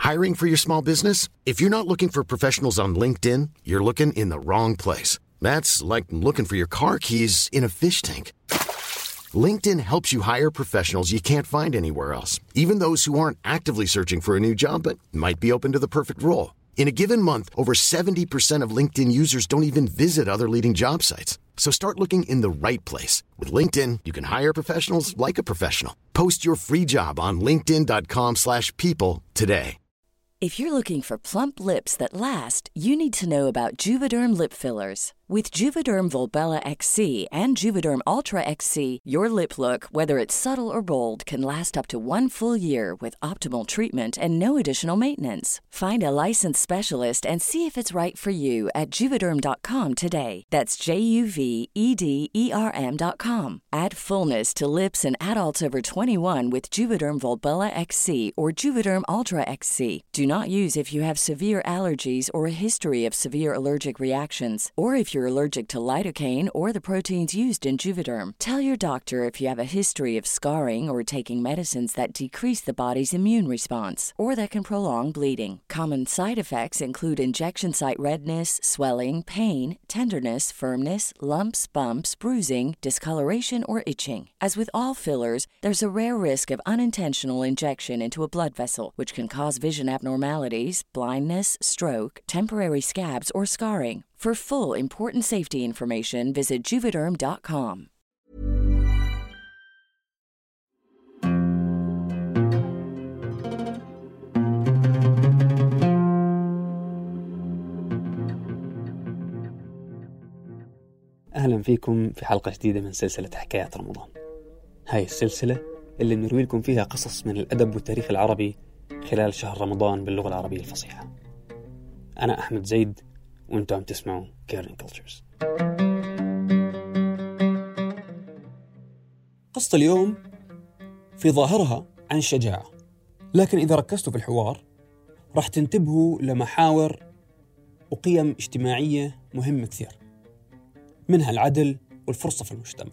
Hiring for your small business? If you're not looking for professionals on LinkedIn, you're looking in the wrong place. That's like looking for your car keys in a fish tank. LinkedIn helps you hire professionals you can't find anywhere else, even those who aren't actively searching for a new job but might be open to the perfect role. In a given month, over 70% of LinkedIn users don't even visit other leading job sites. So start looking in the right place. With LinkedIn, you can hire professionals like a professional. Post your free job on linkedin.com/people today. If you're looking for plump lips that last, you need to know about Juvederm lip fillers. With Juvederm Volbella XC and Juvederm Ultra XC, your lip look, whether it's subtle or bold, can last up to 1 full year with optimal treatment and no additional maintenance. Find a licensed specialist and see if it's right for you at Juvederm.com today. That's JUVEDERM.com. Add fullness to lips in adults over 21 with Juvederm Volbella XC or Juvederm Ultra XC. Do not use if you have severe allergies or a history of severe allergic reactions, or if you're allergic to lidocaine or the proteins used in Juvederm. Tell your doctor if you have a history of scarring or taking medicines that decrease the body's immune response or that can prolong bleeding. Common side effects include injection site redness, swelling, pain, tenderness, firmness, lumps, bumps, bruising, discoloration, or itching. As with all fillers, there's a rare risk of unintentional injection into a blood vessel, which can cause vision abnormalities, blindness, stroke, temporary scabs, or scarring. For full important safety information, visit Juvederm.com. أهلا فيكم في حلقة جديدة من سلسلة حكايات رمضان. هاي السلسلة اللي بنروي لكم فيها قصص من الأدب والتاريخ العربي خلال شهر رمضان باللغة العربية الفصيحة. أنا أحمد زيد وأنتم عم تسمعوا Caring Cultures. قصة اليوم في ظاهرها عن الشجاعة، لكن إذا ركزتوا في الحوار راح تنتبهوا لمحاور وقيم اجتماعية مهمة كثير، منها العدل والفرصة في المجتمع.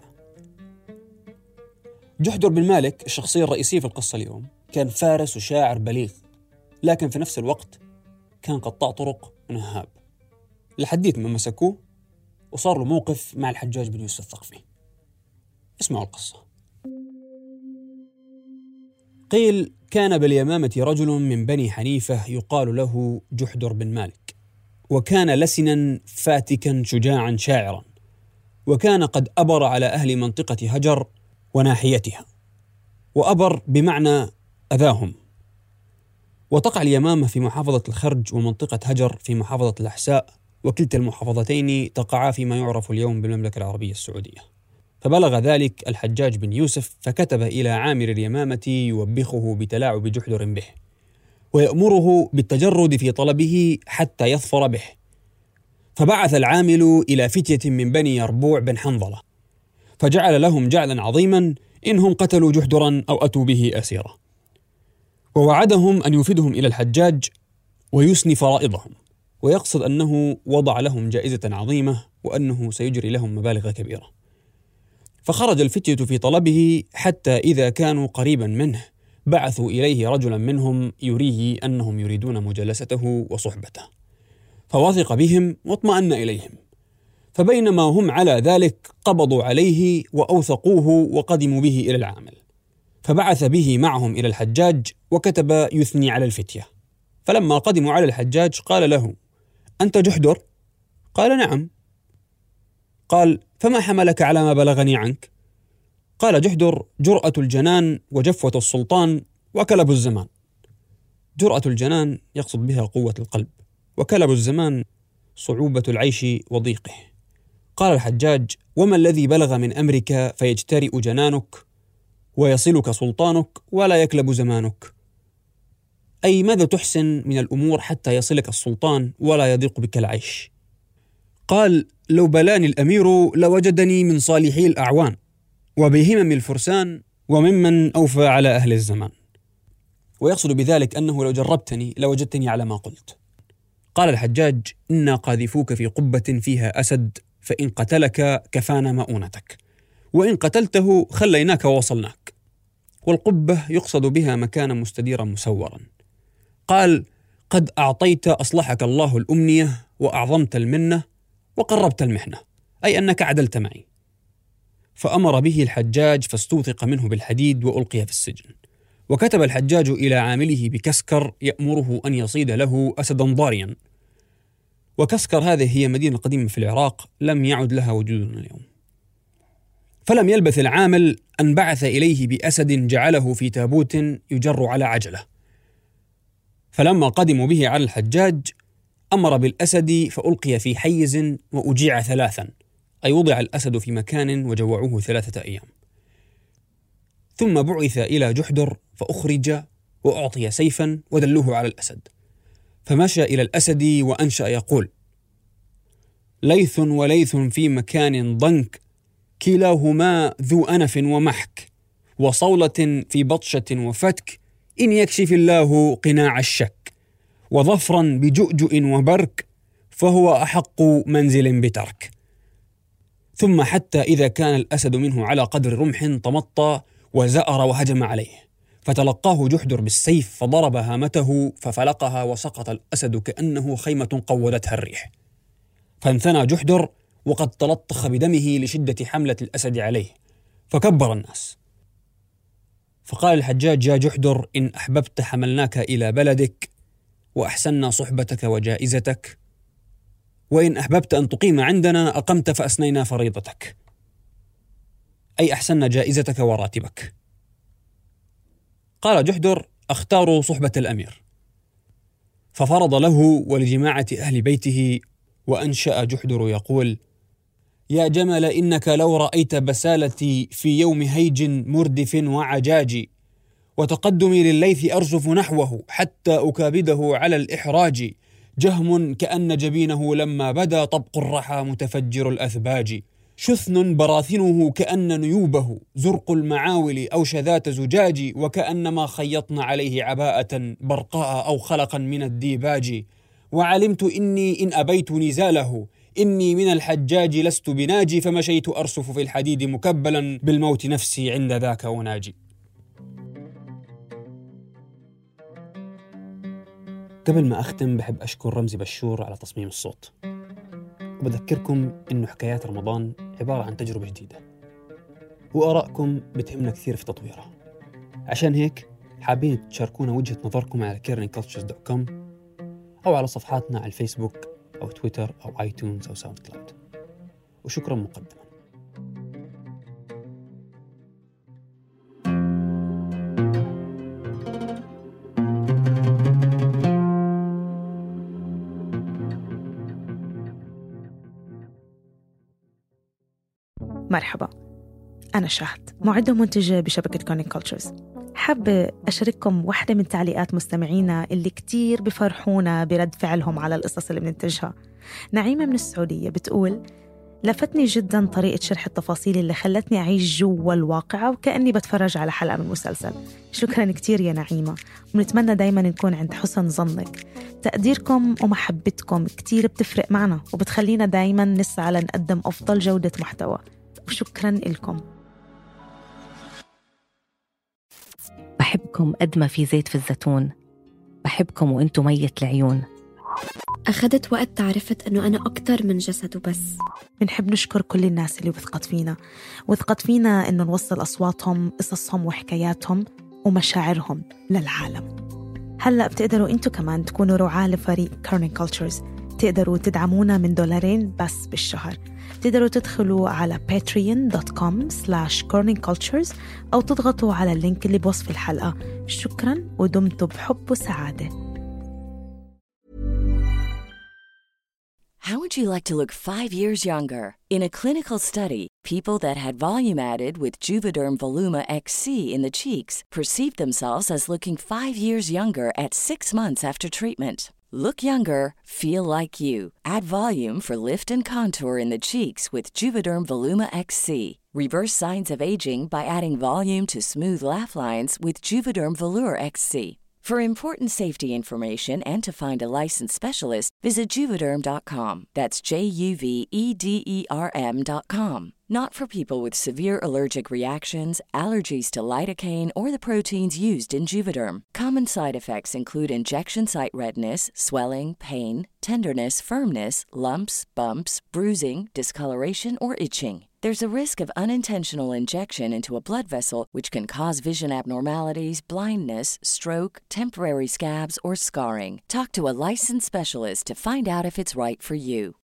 جحدر بن مالك الشخصية الرئيسية في القصة اليوم كان فارس وشاعر بليغ، لكن في نفس الوقت كان قطاع طرق ونهاب، لحديت ما مسكوه وصار له موقف مع الحجاج بن يوسف الثقفي. اسمعوا القصة. قيل كان باليمامة رجل من بني حنيفة يقال له جحدر بن مالك، وكان لسنا فاتكا شجاعا شاعرا، وكان قد أبر على أهل منطقة هجر وناحيتها، وأبر بمعنى أذاهم. وتقع اليمامة في محافظة الخرج ومنطقة هجر في محافظة الأحساء، وكلتا المحافظتين تقعا فيما يعرف اليوم بالمملكة العربية السعودية. فبلغ ذلك الحجاج بن يوسف فكتب إلى عامر اليمامة يوبخه بتلاعب جحدر به، ويأمره بالتجرد في طلبه حتى يظفر به. فبعث العامل إلى فتية من بني يربوع بن حنظلة، فجعل لهم جعلا عظيما إنهم قتلوا جحدرا أو أتوا به أسيرا، ووعدهم أن يفيدهم إلى الحجاج ويسني فرائضهم، ويقصد أنه وضع لهم جائزة عظيمة وأنه سيجري لهم مبالغ كبيرة. فخرج الفتية في طلبه حتى إذا كانوا قريبا منه بعثوا إليه رجلا منهم يريه أنهم يريدون مجالسته وصحبته، فوثق بهم واطمأن إليهم. فبينما هم على ذلك قبضوا عليه وأوثقوه وقدموا به إلى العامل، فبعث به معهم إلى الحجاج وكتب يثني على الفتية. فلما قدموا على الحجاج قال له: أنت جحدر؟ قال: نعم. قال: فما حملك على ما بلغني عنك؟ قال جحدر: جرأة الجنان وجفوة السلطان وكلب الزمان. جرأة الجنان يقصد بها قوة القلب، وكلب الزمان صعوبة العيش وضيقه. قال الحجاج: وما الذي بلغ من أمرك فيجترئ جنانك ويصلك سلطانك ولا يكلب زمانك؟ أي ماذا تحسن من الأمور حتى يصلك السلطان ولا يضيق بك العيش؟ قال: لو بلاني الأمير لوجدني من صالحي الأعوان وبهمم الفرسان وممن أوفى على أهل الزمان. ويقصد بذلك أنه لو جربتني لوجدتني على ما قلت. قال الحجاج: إنا قاذفوك في قبة فيها أسد، فإن قتلك كفانا مؤونتك، وإن قتلته خليناك ووصلناك. والقبة يقصد بها مكانا مستديرا مسورا. قال: قد أعطيت أصلحك الله الأمنية وأعظمت المنة وقربت المحنة، أي أنك عدلت معي. فأمر به الحجاج فاستوثق منه بالحديد وألقي في السجن. وكتب الحجاج إلى عامله بكسكر يأمره أن يصيد له أسدا ضاريا. وكسكر هذه هي مدينة قديمة في العراق لم يعد لها وجود اليوم. فلم يلبث العامل أن بعث إليه بأسد جعله في تابوت يجر على عجلة. فلما قدموا به على الحجاج أمر بالأسد فألقي في حيز وأجيع 3، أي وضع الأسد في مكان وجوعوه 3 أيام. ثم بعث إلى جحدر فأخرج وأعطي سيفا ودلوه على الأسد، فمشى إلى الأسد وأنشأ يقول: ليث وليث في مكان ضنك، كلاهما ذو أنف ومحك، وصولة في بطشة وفتك، إن يكشف الله قناع الشك، وظفرا بجؤجؤ وبرك، فهو أحق منزل بترك. ثم حتى إذا كان الأسد منه على قدر رمح تمطى وزأر وهجم عليه، فتلقاه جحدر بالسيف فضرب هامته ففلقها، وسقط الأسد كأنه خيمة قودتها الريح. فانثنى جحدر وقد تلطخ بدمه لشدة حملة الأسد عليه، فكبر الناس. فقال الحجاج: يا جحدر، إن أحببت حملناك إلى بلدك وأحسننا صحبتك وجائزتك، وإن أحببت أن تقيم عندنا أقمت فأسنينا فريضتك، أي أحسننا جائزتك وراتبك. قال جحدر: أختار صحبة الأمير. ففرض له ولجماعة أهل بيته. وأنشأ جحدر يقول: يا جمل، إنك لو رأيت بسالتي في يوم هيج مردف وعجاج، وتقدمي لليث أرجف نحوه حتى أكابده على الإحراج، جهم كأن جبينه لما بدا طبق الرحى متفجر الأثباج، شثن براثنه كأن نيوبه زرق المعاول أو شذات زجاج، وكأنما خيطن عليه عباءة برقاء أو خلقا من الديباج، وعلمت إني إن أبيت نزاله إني من الحجاج لست بناجي، فمشيت أرسف في الحديد مكبلا بالموت نفسي عند ذاك أناجي. قبل ما أختم بحب أشكر رمزي بشور على تصميم الصوت، وبذكركم إنه حكايات رمضان عبارة عن تجربة جديدة، وآرائكم بتهمنا كثير في تطويرها. عشان هيك حابين تشاركونا وجهة نظركم على caringcultures.com أو على صفحاتنا على الفيسبوك أو تويتر أو آيتونز أو ساوند كلاود. وشكرا مقدما. مرحبا، أنا شهد، معدة ومنتجة بشبكة كارنينج كولتشرز. حابة أشارككم واحدة من تعليقات مستمعينا اللي كتير بفرحونا برد فعلهم على القصص اللي بننتجها. نعيمة من السعودية بتقول: لفتني جدا طريقة شرح التفاصيل اللي خلتني أعيش جوا الواقعة وكأني بتفرج على حلقة من مسلسل. شكرا كتير يا نعيمة، ونتمنى دايما نكون عند حسن ظنك. تقديركم ومحبتكم كتير بتفرق معنا وبتخلينا دايما نسعى لنقدم أفضل جودة محتوى، وشكرا لكم. بحبكم قد ما في زيت في الزيتون، بحبكم وانتم ميت العيون. أخذت وقت تعرفت أنه أنا أكتر من جسد وبس. بنحب نشكر كل الناس اللي وثقت فينا إنه نوصل أصواتهم، قصصهم وحكاياتهم ومشاعرهم للعالم. هلأ بتقدروا أنتوا كمان تكونوا رعاة لفريق كارنينج كولتشرز. تقدروا تدعمونا من $2 بس بالشهر. تقدروا تدخلوا على patreon.com/corningcultures أو تضغطوا على اللينك اللي بوصف الحلقة. شكراً ودمتم بحب وسعادة. How would you like to look 5 years younger? In a clinical study, people that had volume added with Juvederm Voluma XC in the cheeks perceived themselves as looking 5 years younger at 6 months after treatment. Look younger, feel like you. Add volume for lift and contour in the cheeks with Juvederm Voluma XC. Reverse signs of aging by adding volume to smooth laugh lines with Juvederm Volure XC. For important safety information and to find a licensed specialist, visit Juvederm.com. That's JUVEDERM.com. Not for people with severe allergic reactions, allergies to lidocaine, or the proteins used in Juvederm. Common side effects include injection site redness, swelling, pain, tenderness, firmness, lumps, bumps, bruising, discoloration, or itching. There's a risk of unintentional injection into a blood vessel, which can cause vision abnormalities, blindness, stroke, temporary scabs, or scarring. Talk to a licensed specialist to find out if it's right for you.